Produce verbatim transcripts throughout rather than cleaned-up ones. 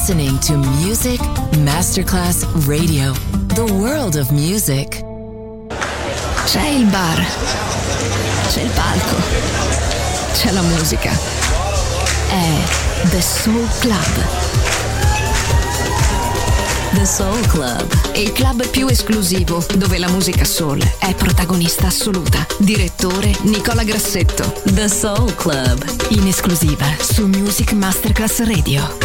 listening to Music Masterclass Radio, the world of music. C'è il bar, c'è il palco, c'è la musica. È The Soul Club. The Soul Club, il club più esclusivo dove la musica soul è protagonista assoluta. Direttore Nicola Grassetto. The Soul Club, in esclusiva su Music Masterclass Radio.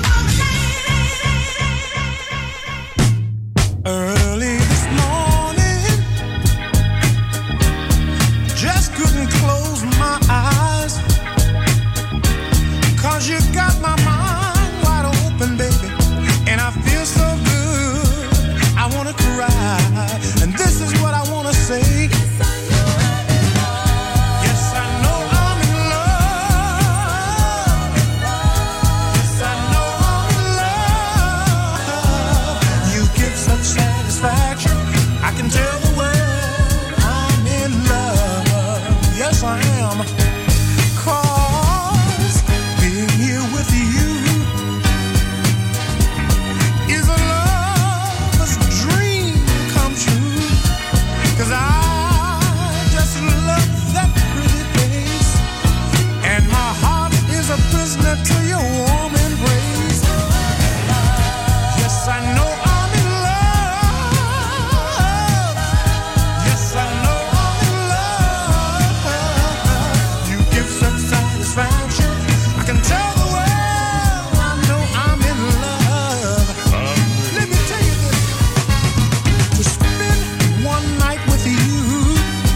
Early this morning, just couldn't close my eyes, 'cause you got my mind wide open, baby, and I feel so good, I wanna cry, and this is what I wanna say. Yes, I know I'm in love. Yes, I know I'm in love. You give such satisfaction, I can tell the world I'm in love. Yes, I am. 'Cause being here with you is a lover's dream come true. 'Cause I just love that pretty face, and my heart is a prisoner to your warm embrace. Yes, I know I'm in love. Yes, I know I'm in love. You give such satisfaction, I can tell the world I know I'm in love. Let me tell you this, to spend one night with you,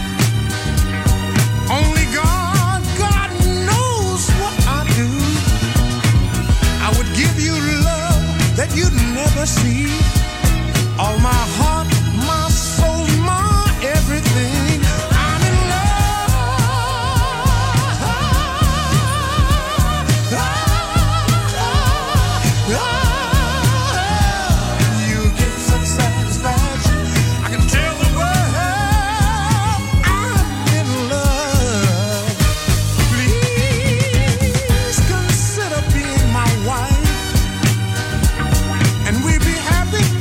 only God, God knows what I'd do. I would give you love that you'd never see. All my heart, my soul, my everything. I'm in love. You give such satisfaction, I can tell the world I'm in love. Please consider being my wife, and we'd be happy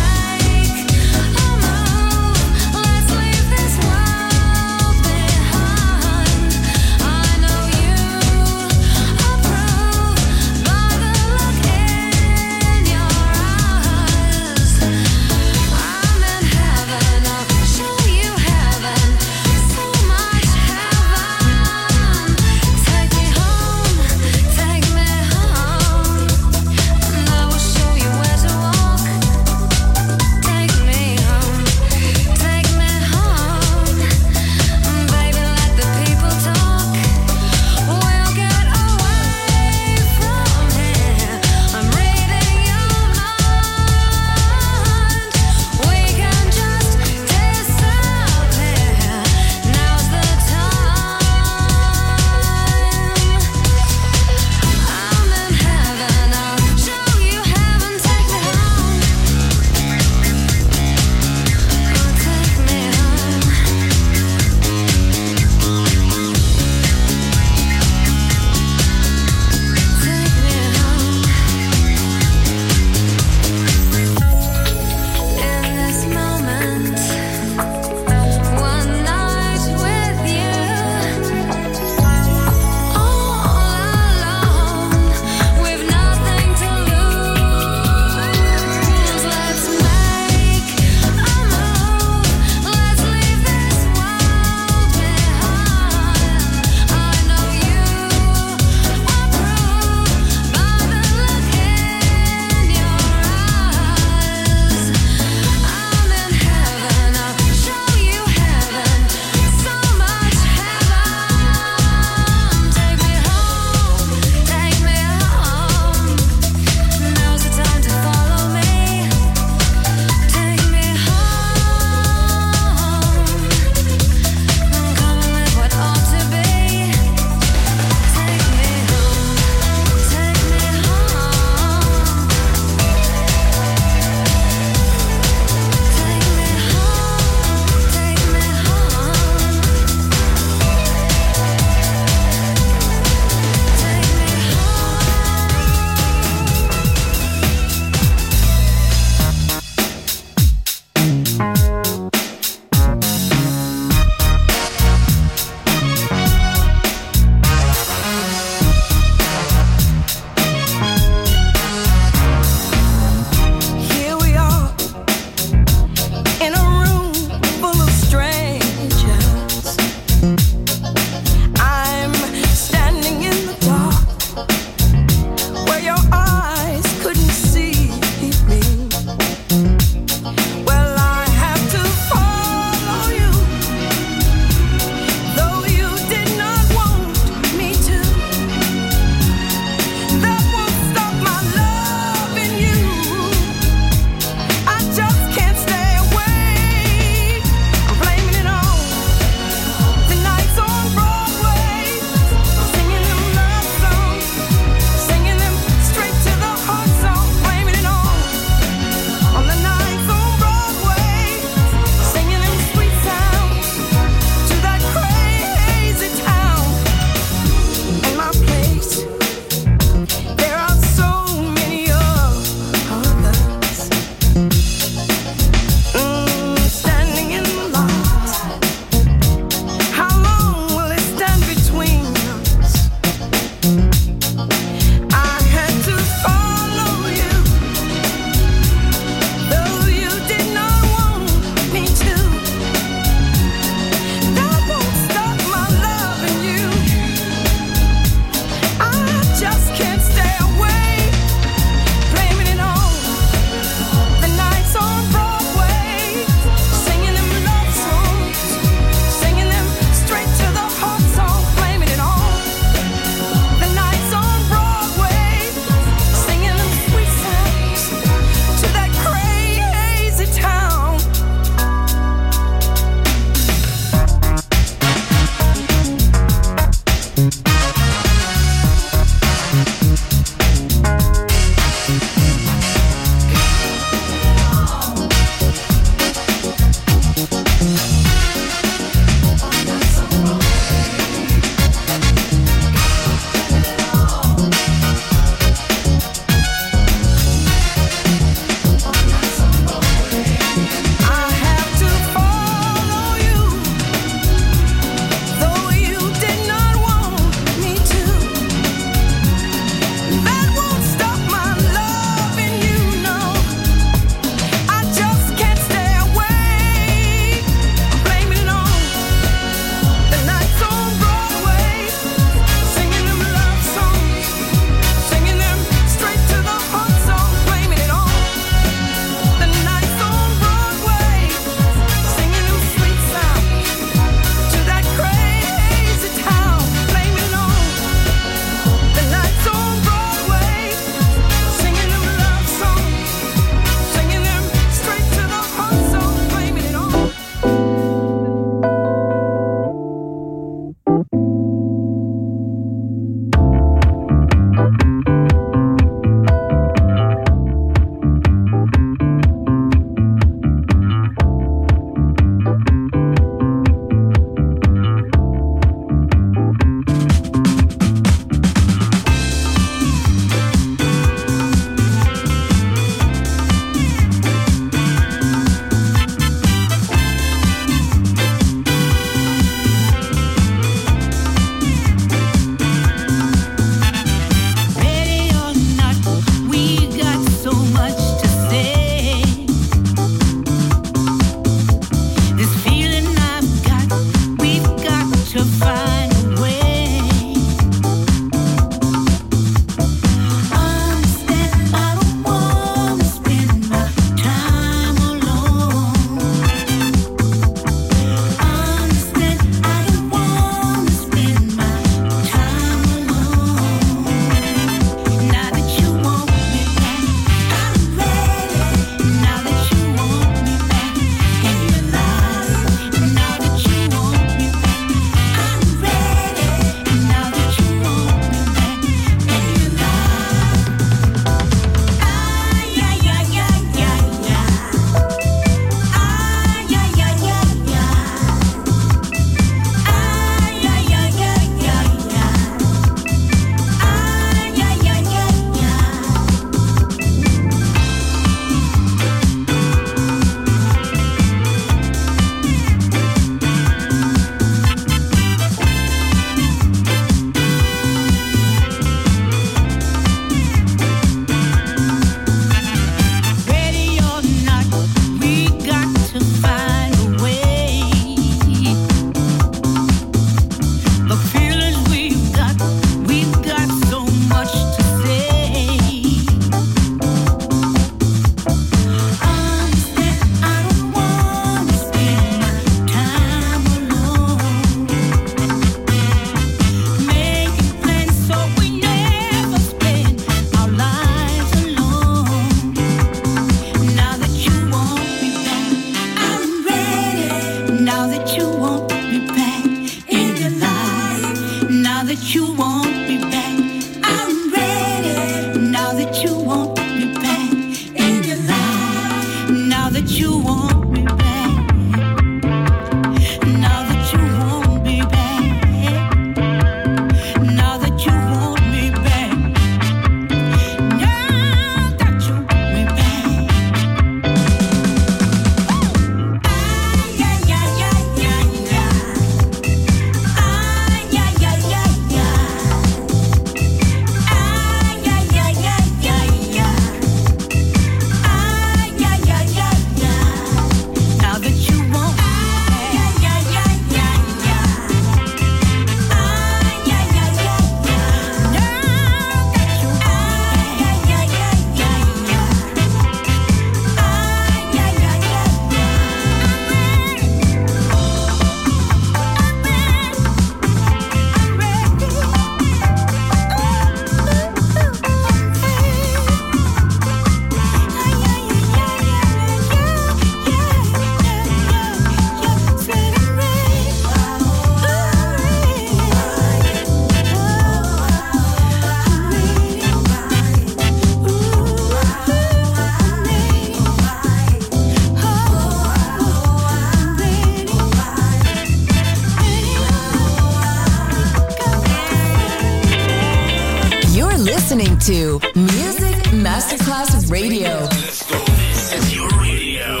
to Music Masterclass Radio. Let's go. This is your radio.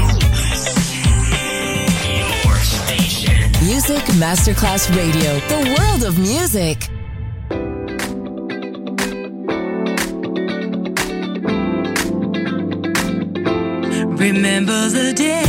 Your station. Music Masterclass Radio. The world of music. Remember the day.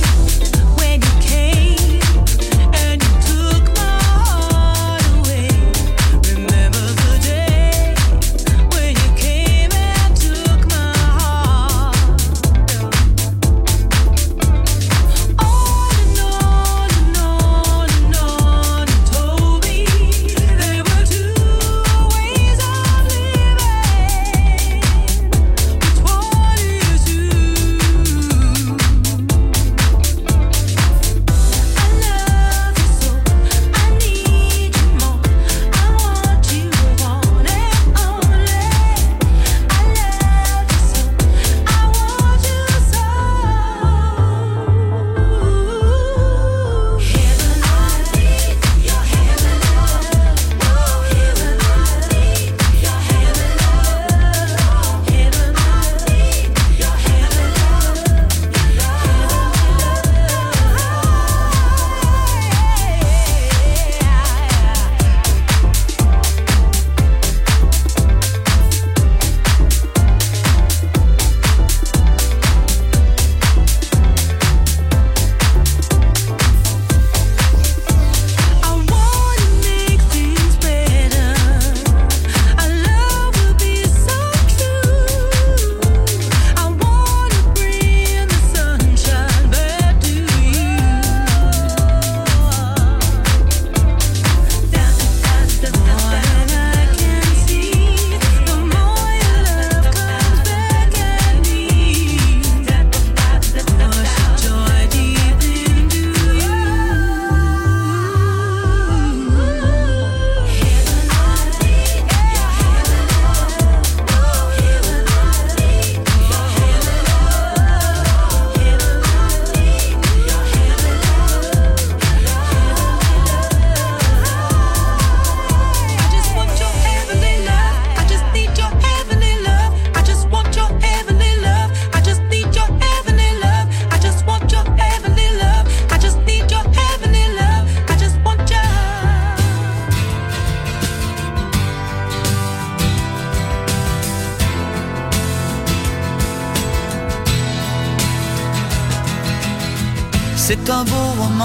C'est un beau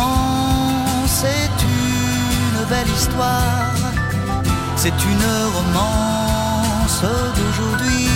roman, c'est une belle histoire, c'est une romance d'aujourd'hui.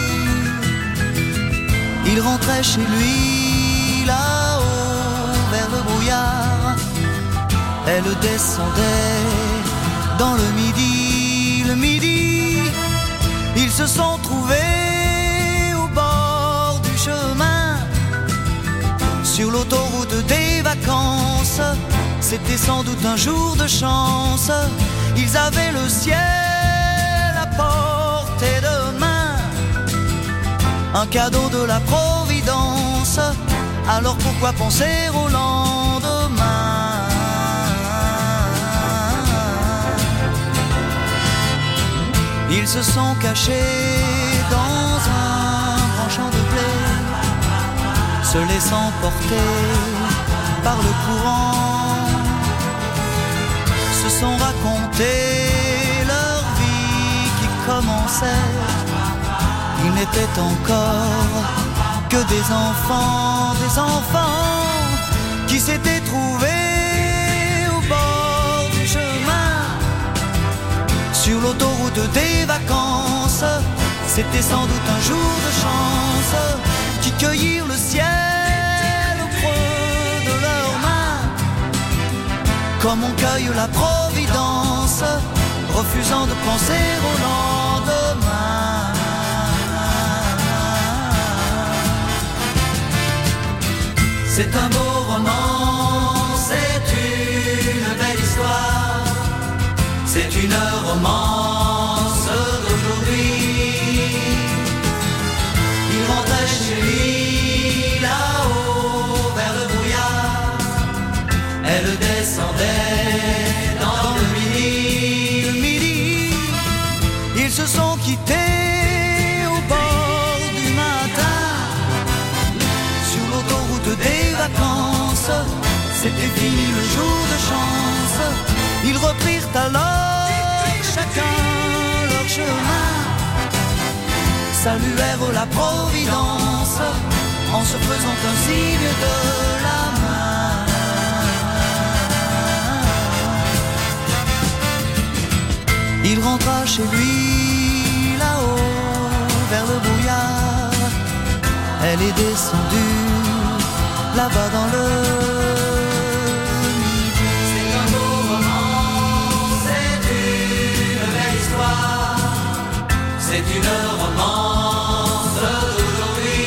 Il rentrait chez lui, là-haut, vers le brouillard. Elle descendait dans le midi, le midi. Ils se sont trouvés au bord du chemin, sur l'autoroute des vacances. C'était sans doute un jour de chance. Ils avaient le ciel à portée de main, un cadeau de la Providence. Alors pourquoi penser au lendemain? Ils se sont cachés dans un grand champ de blé, se laissant porter par le courant, se sont raconté leur vie qui commençait. Ils n'étaient encore que des enfants, des enfants qui s'étaient trouvés au bord du chemin, sur l'autoroute des vacances. C'était sans doute un jour de chance, qui cueillirent le ciel au creux de leurs mains, comme on cueille la Providence, refusant de penser au lendemain. C'est un beau roman, c'est une belle histoire, c'est une romance d'aujourd'hui. Il rentrait chez lui, là-haut, vers le brouillard. Elle descendait dans le midi, le midi. Ils se sont quittés c'était fini le jour de chance. Ils reprirent alors chacun leur chemin, saluèrent la Providence en se faisant un signe de la main. Il rentra chez lui là-haut vers le brouillard. Elle est descendue là-bas dans le midi. C'est un beau roman, c'est une belle histoire, c'est une romance d'aujourd'hui.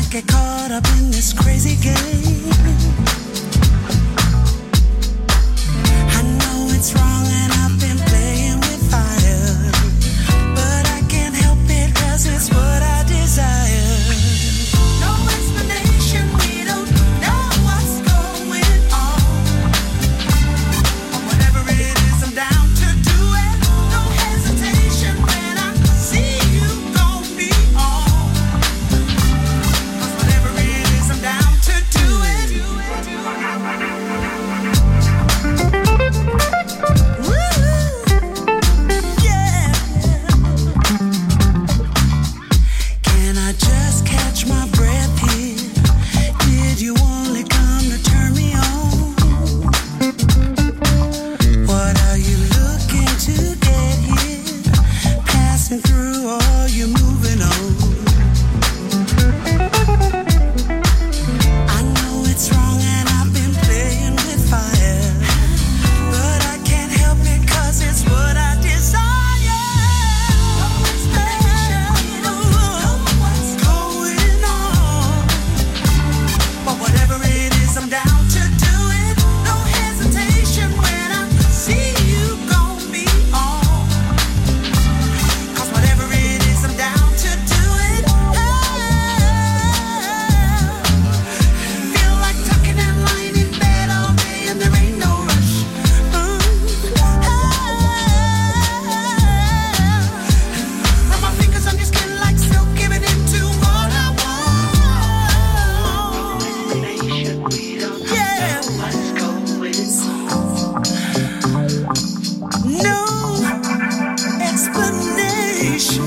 get caught up in this crazy game. I know it's wrong and I've been playing with fire, but I can't help it 'cause it's what I desire. No explanation, we don't know what's going on. But whatever it is, I'm down to do it. No hesitation when I see you gon' be on. 'Cause whatever it is, I'm down to do it. Woo, yeah. Can I just catch my breath here? Did you only come to turn me on? What are you looking to get here? Passing through or you moving on? I know it's wrong and I've been playing with fire, but I can't help it 'cause it's what I desire. No explanation, no what's going on. But whatever it is, I'm down to do it. No hesitation when I see you gon' be on. 'Cause whatever it is, I'm down to do it. Feel like tucking and lying in bed all day and there ain't no rush. Rub my fingers on your skin like silk, giving into what I want. Yeah. No explanation.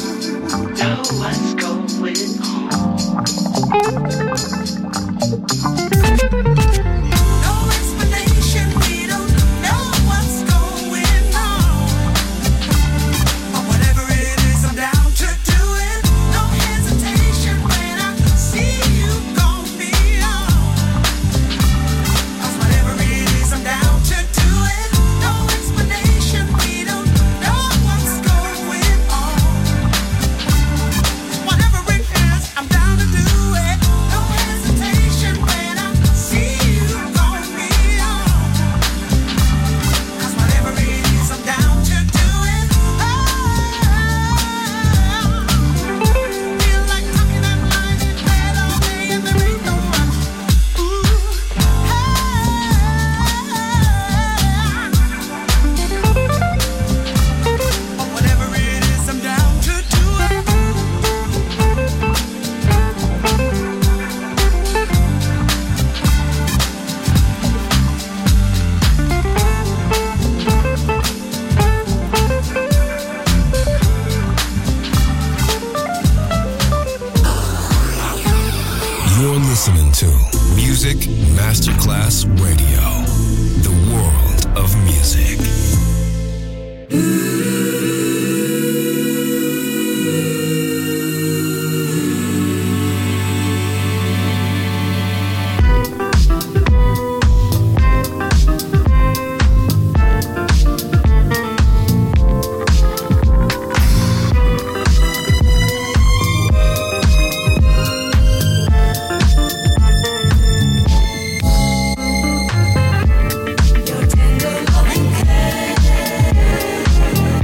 No explanation, we don't know what's going on. But whatever it is, I'm down to do it. No hesitation when I see you gon' be on. 'Cause whatever it is, I'm down to do it. No explanation, we don't know what's going on. Whatever it is, I'm down to do it. No hesitation when I see you gon' be on. 'Cause whatever it is, I'm down to do it. Feel like tucking and lying in bed all day and there ain't no rush. Ooh, but whatever it is, I'm down to do it. You're listening to Music Masterclass Radio, the world of music. Your tender loving care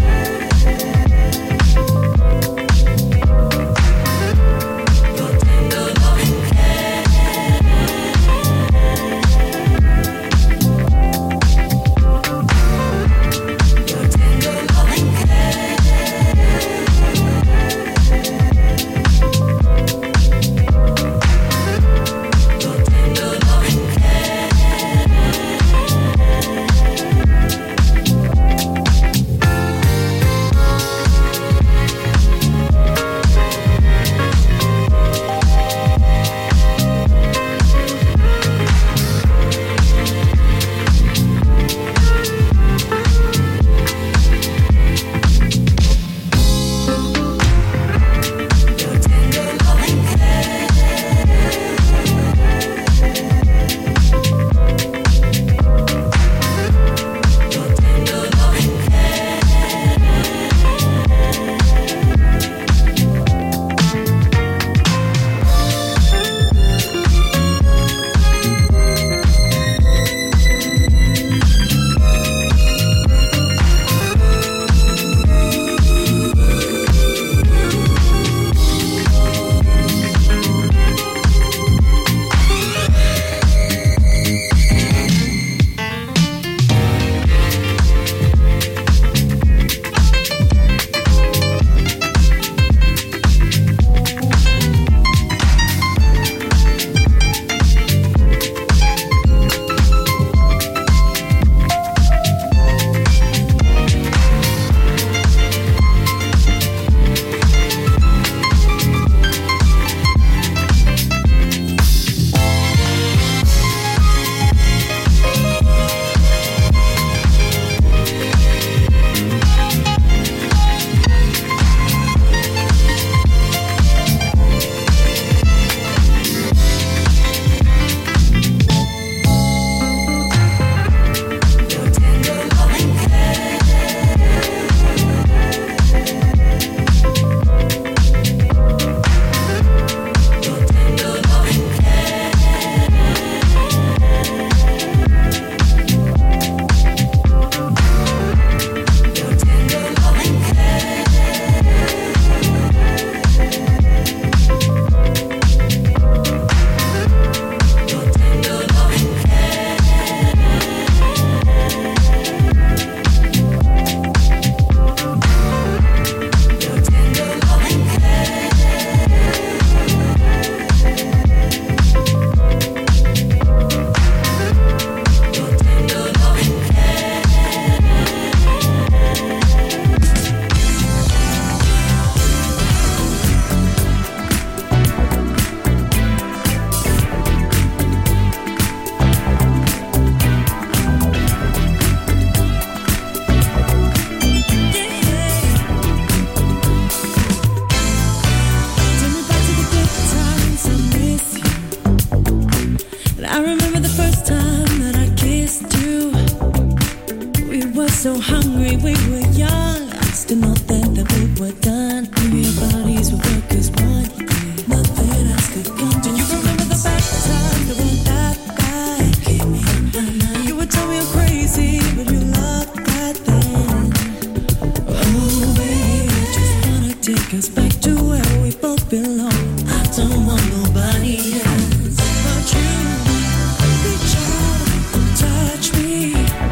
so hungry, we were young. I still not think that we were done. Maybe our bodies will work as one. Nothing else could come. Do you remember the bad times that weren't that bad? Keep me up at night. You would tell me I'm crazy, but you loved that then. Oh baby, I just wanna take us back to where we both belong. I don't want nobody else but you. Reach out, touch me,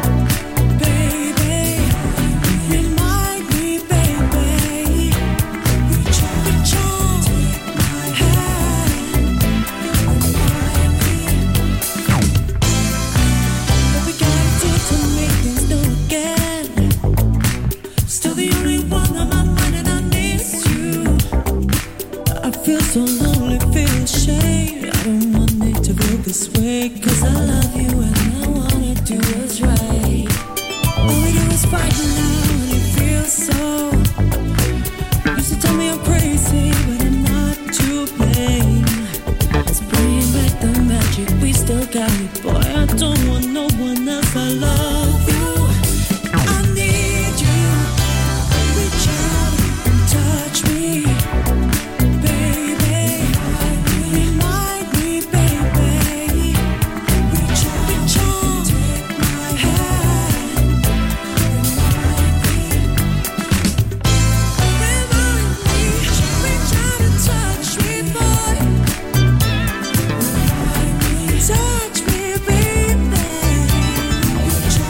baby. Remind me, baby. Reach out, reach out, take my hand. Remind me. What we gotta do to make things new again. Still the only one on my mind and I miss you. I feel so lonely, feel ashamed. I don't want it to feel this way. Cause I love you and I wanna do what's right. All we do is fight now and it feels so. Used to tell me I'm crazy, but I'm not to blame. Let's bring back the magic, we still got it. Boy, I don't want no one else, I love you. I need you. Reach out and touch me, baby. Remind me, baby. Reach out, reach out, take my hand. Remind me. Remind me. Reach out and touch me, boy. Remind me. Touch me, baby. Reach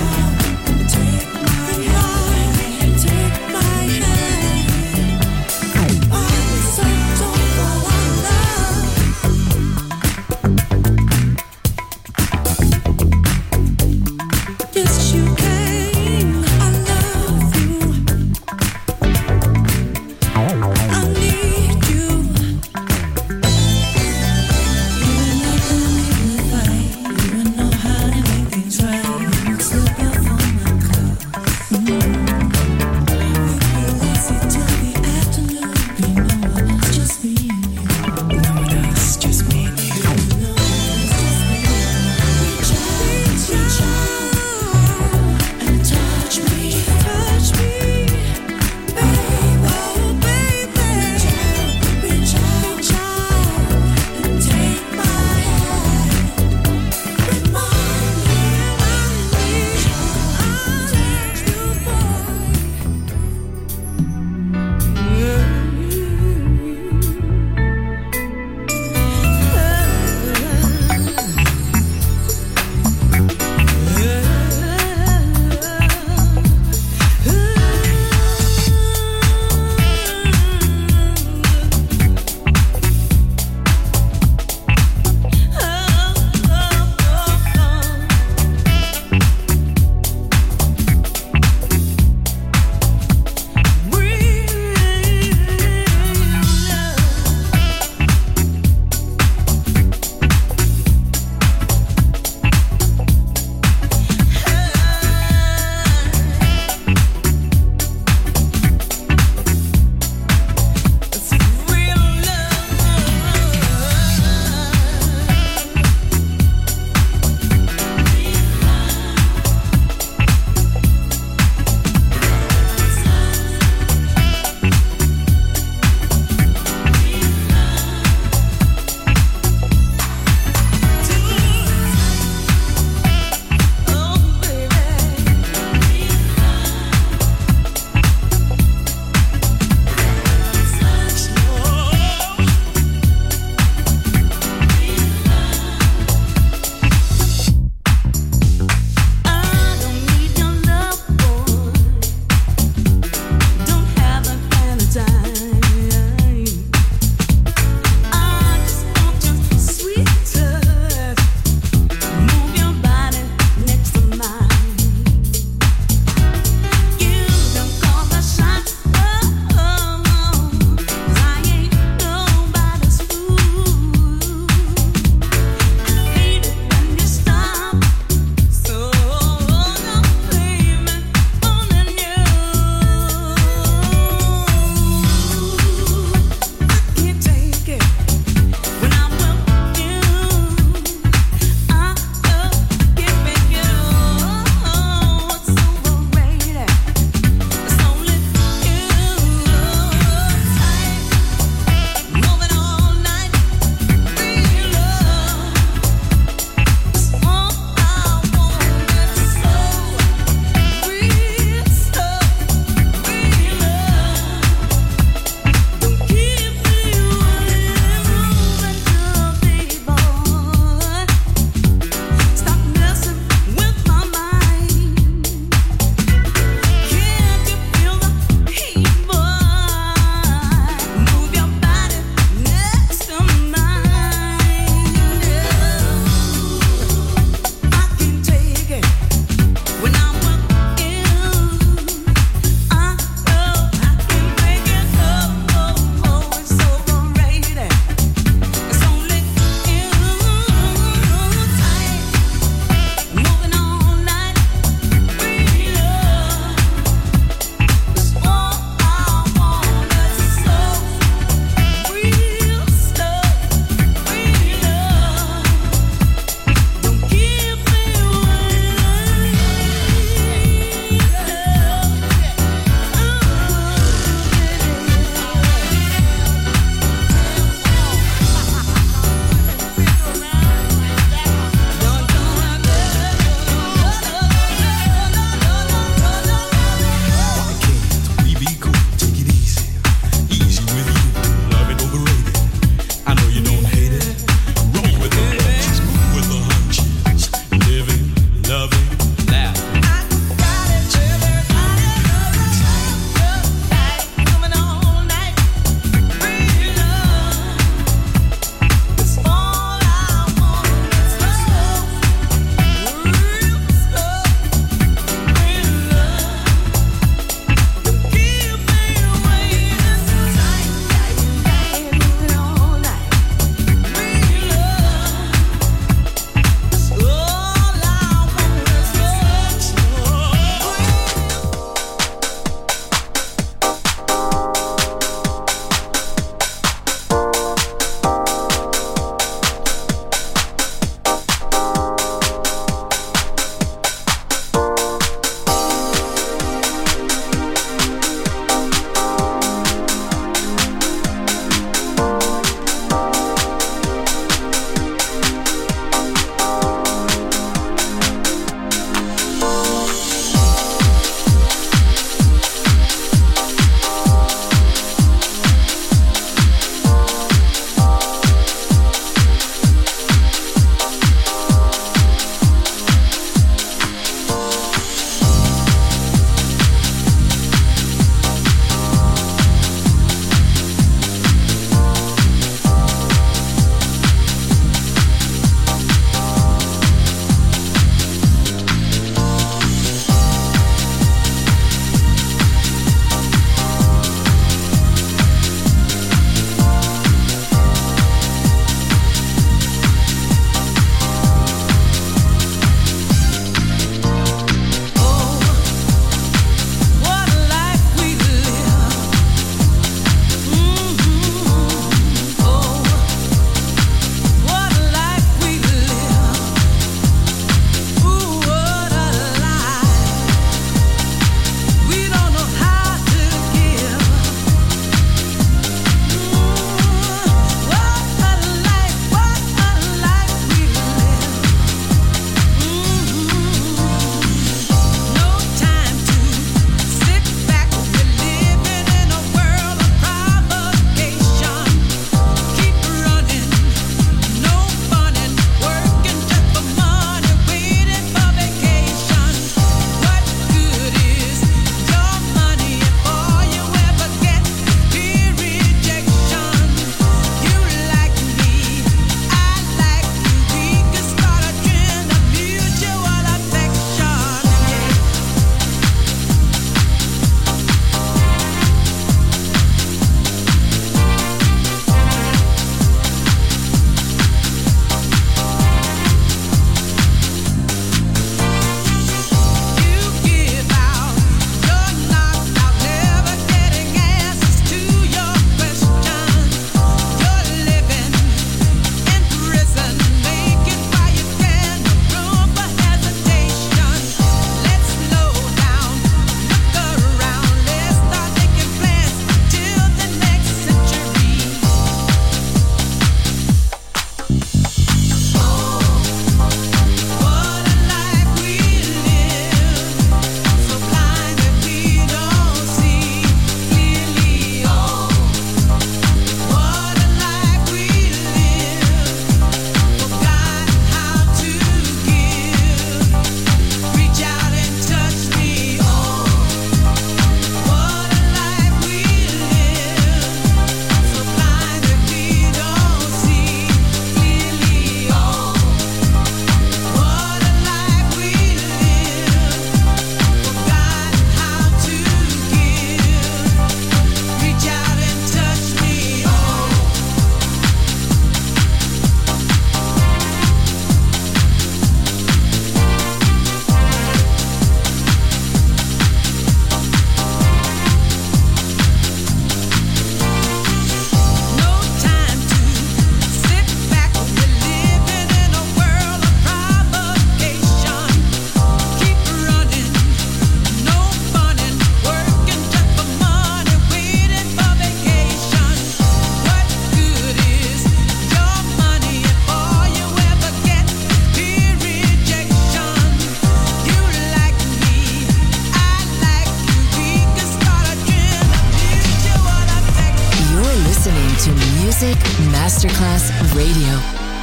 Radio.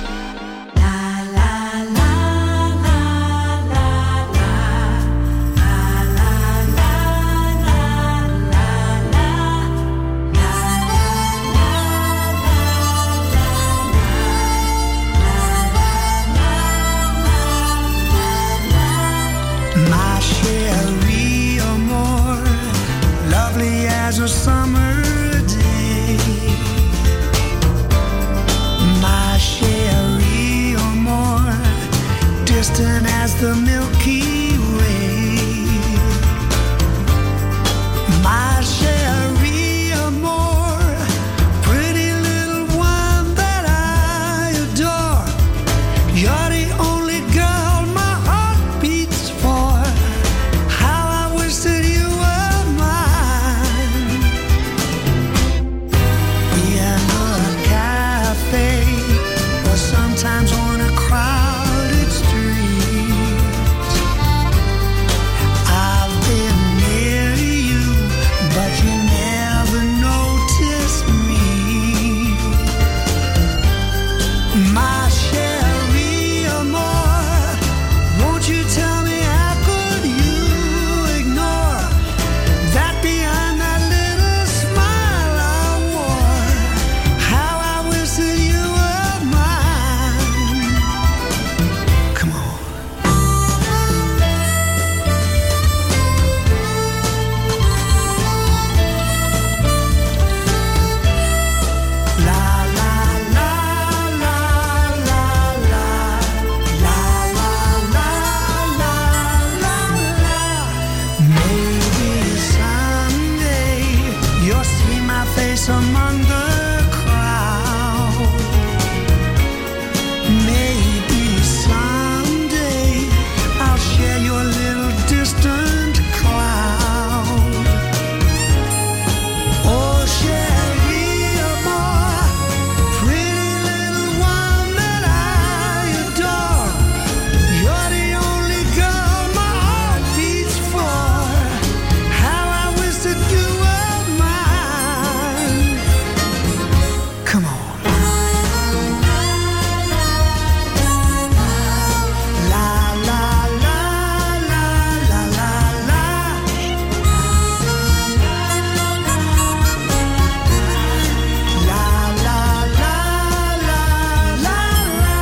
My Sherry Amore, lovely as a summer day. My Sherry Amore, distant as the Milky Way. My Sherry Amore, pretty little one that I adore. You're the only girl my heart beats for. How I wish that you were mine. In a cafe, or sometimes on a crowded street. I've been near you, but you never noticed me. My Sherry Amore, won't you tell me how could you ignore that behind that little smile I wore? How I wish that you were mine. Come on. La la la la la la la la la la la la. Maybe someday you'll see my face among the crowd. Maybe someday I'll share your little distant cloud. Oh, Sherry Amore, pretty little one that I adore. You're the only girl my heart beats for. How I wish that you were mine. Come on. La la la la la la la. La la la la la la.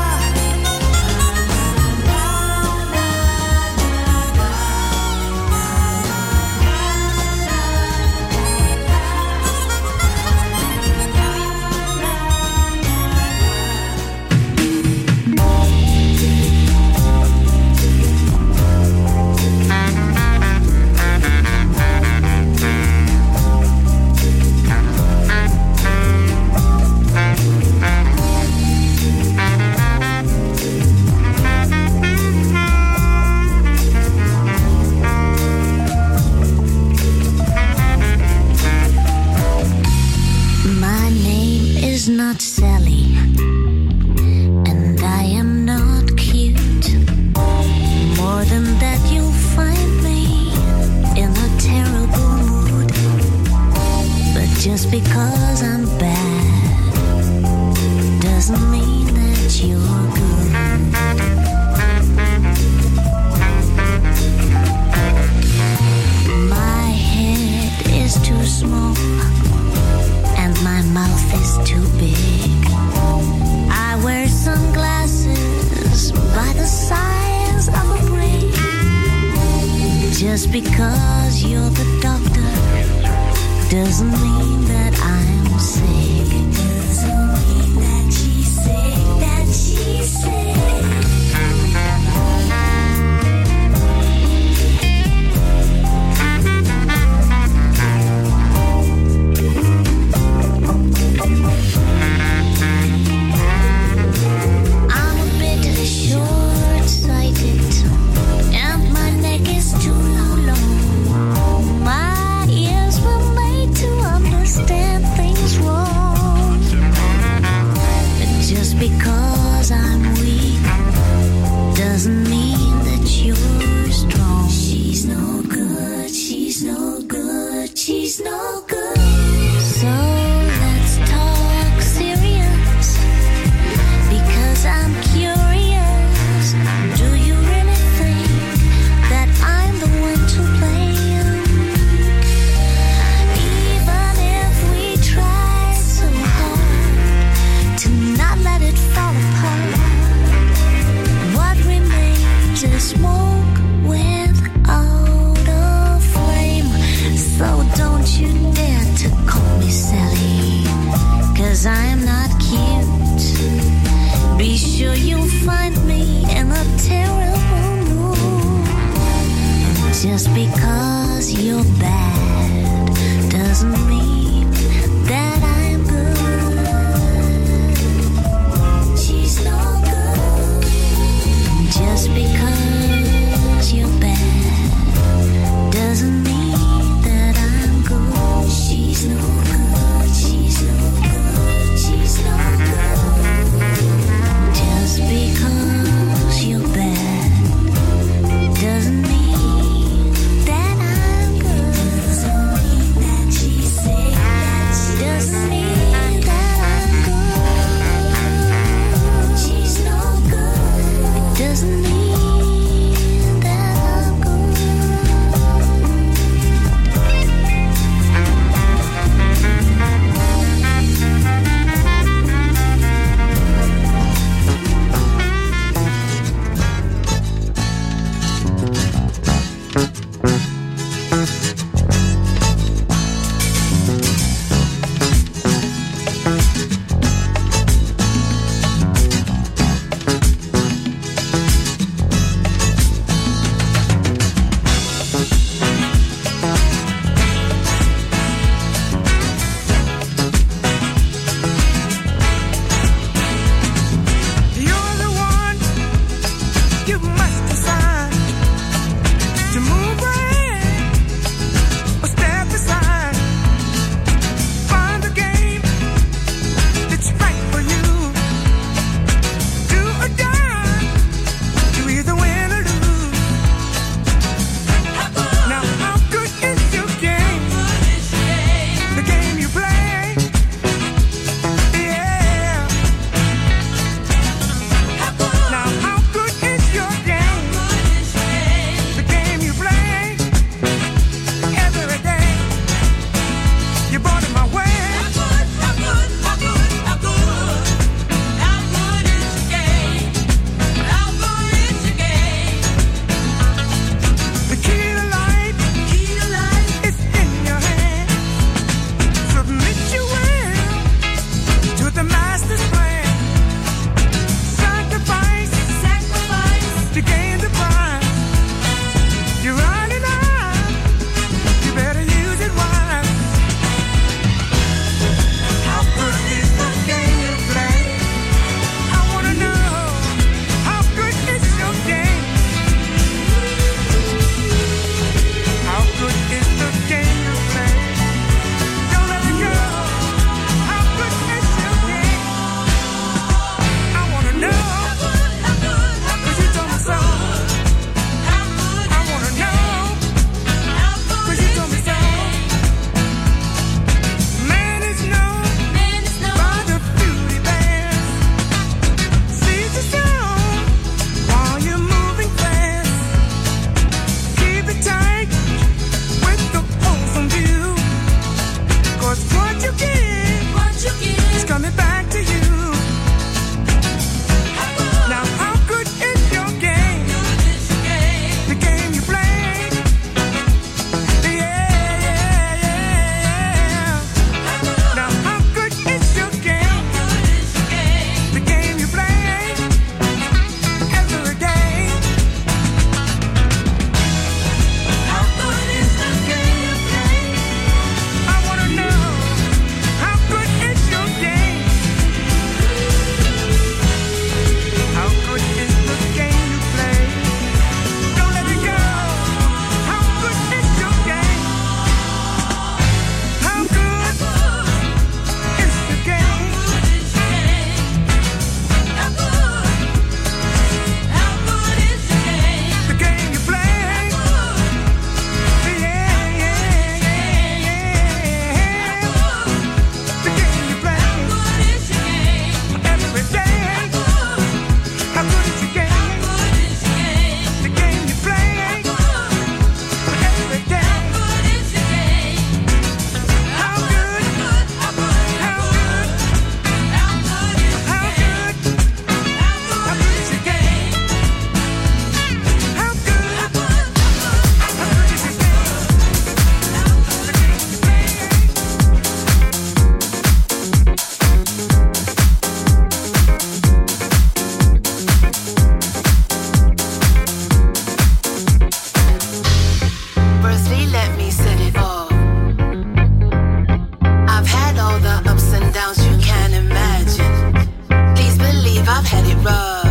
My name is not Sally, and I am not cute. More than that, you'll find me in a terrible mood. But just because I'm bad doesn't mean that you're good. My head is too small and my mouth is too big. I wear sunglasses by the size of a brick. Just because you're the doctor doesn't mean that I'm sick. Doesn't mean that she's sick, that she's sick. I'm a bit short-sighted, and my neck is too long. My ears were made to understand things wrong. But just because I'm weak doesn't mean that you're strong. She's no good, she's no good, she's no good. So let's talk serious. find me in a terrible mood. Just because you're bad doesn't mean that I'm good. She's no good. Just because you're bad doesn't mean that I'm good. She's no good. She's no good. She's no good. Just because you're bad doesn't mean that I'm good. I've had it rough.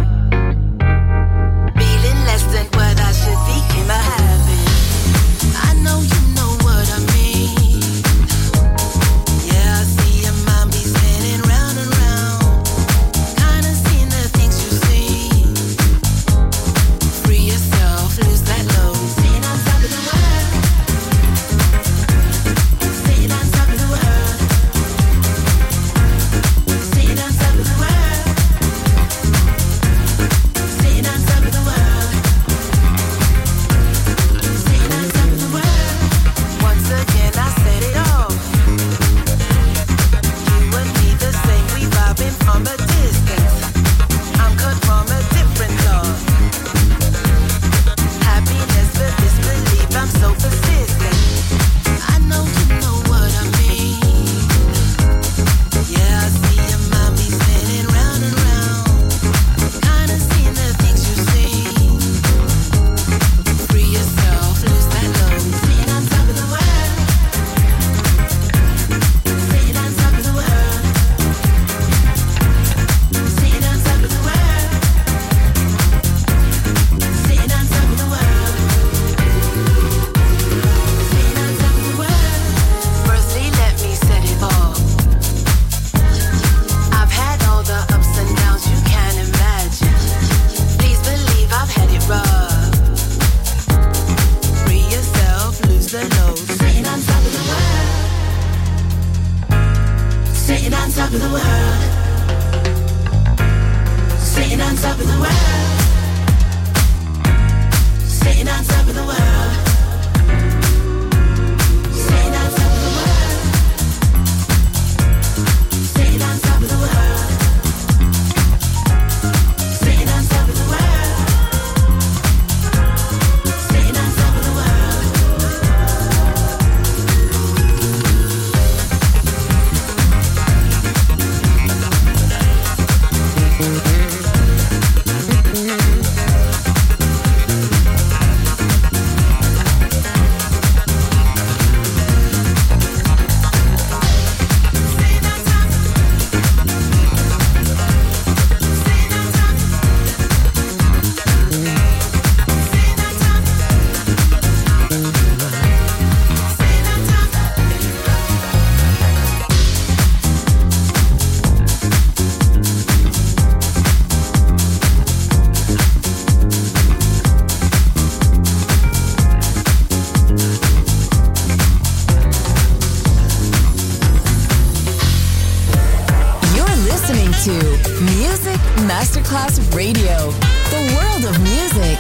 Feeling less than what I should be became a habit. I know you know what I mean. Yeah, I see your mind be spinning round and round. Kinda seen the things you see. Free yourself, lose that load. Sitting on top of the world. Sitting on top of the world. Sitting on top of the world. Sitting on top of the world. Sitting on top of the world. Once again I said it all. You and me the same, we vibing from a distance. I'm cut from a different cloth. Happiness for disbelief, I'm so persistent. I know you know what I mean. Yeah, I see your mind be spinning round and round. Kinda seen the things you see. Free yourself, lose that load. Sitting on top of the world. Sitting on top of the world. Sitting on top of the world. Sitting on top of the world. Sitting on top of the world. Firstly, let me set it off. I've had all the ups and downs you can imagine. Please believe I've had it rough. Free yourself, lose the load. Sitting on top of the world. Sitting on top of the world. Sitting on top of the world. Sitting on top of the world. Sitting on top of the world. Sitting on top of the world. Sitting on top of the world. Sitting on top of the world. You're listening to Music Masterclass Radio, the world of music.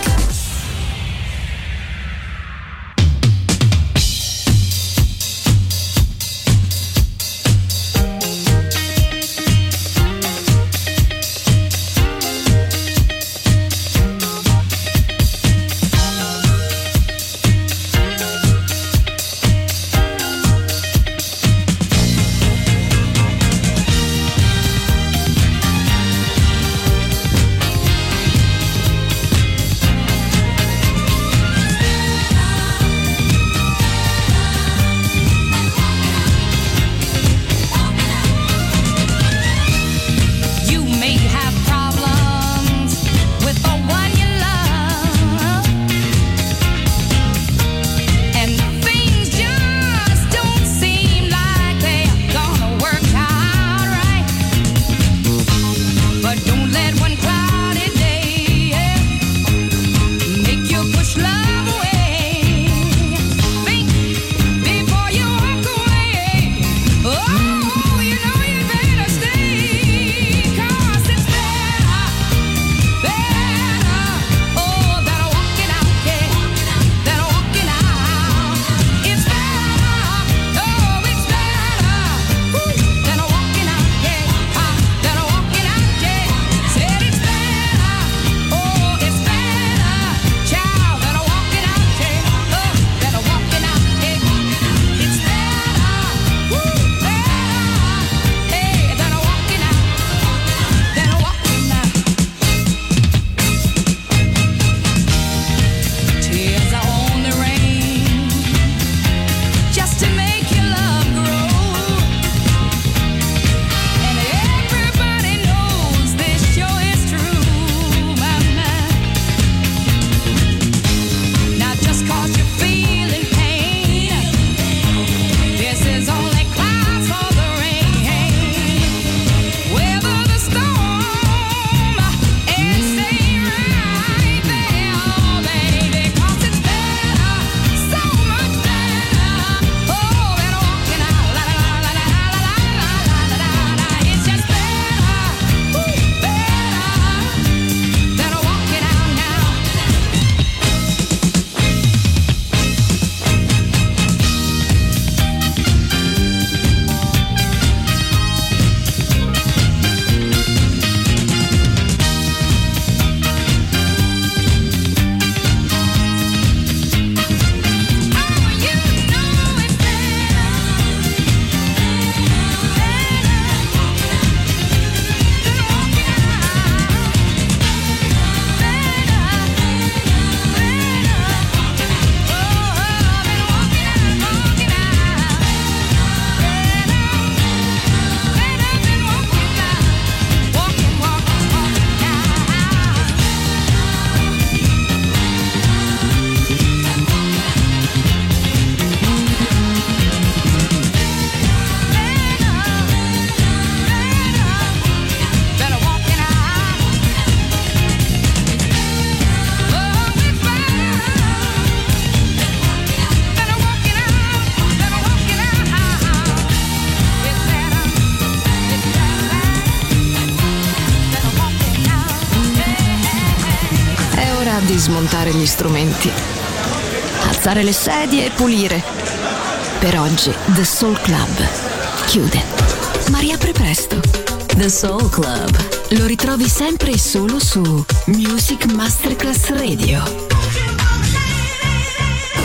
ora di smontare gli strumenti, alzare le sedie e pulire. Per oggi The Soul Club chiude, ma riapre presto. The Soul Club. Lo ritrovi sempre e solo su Music Masterclass Radio.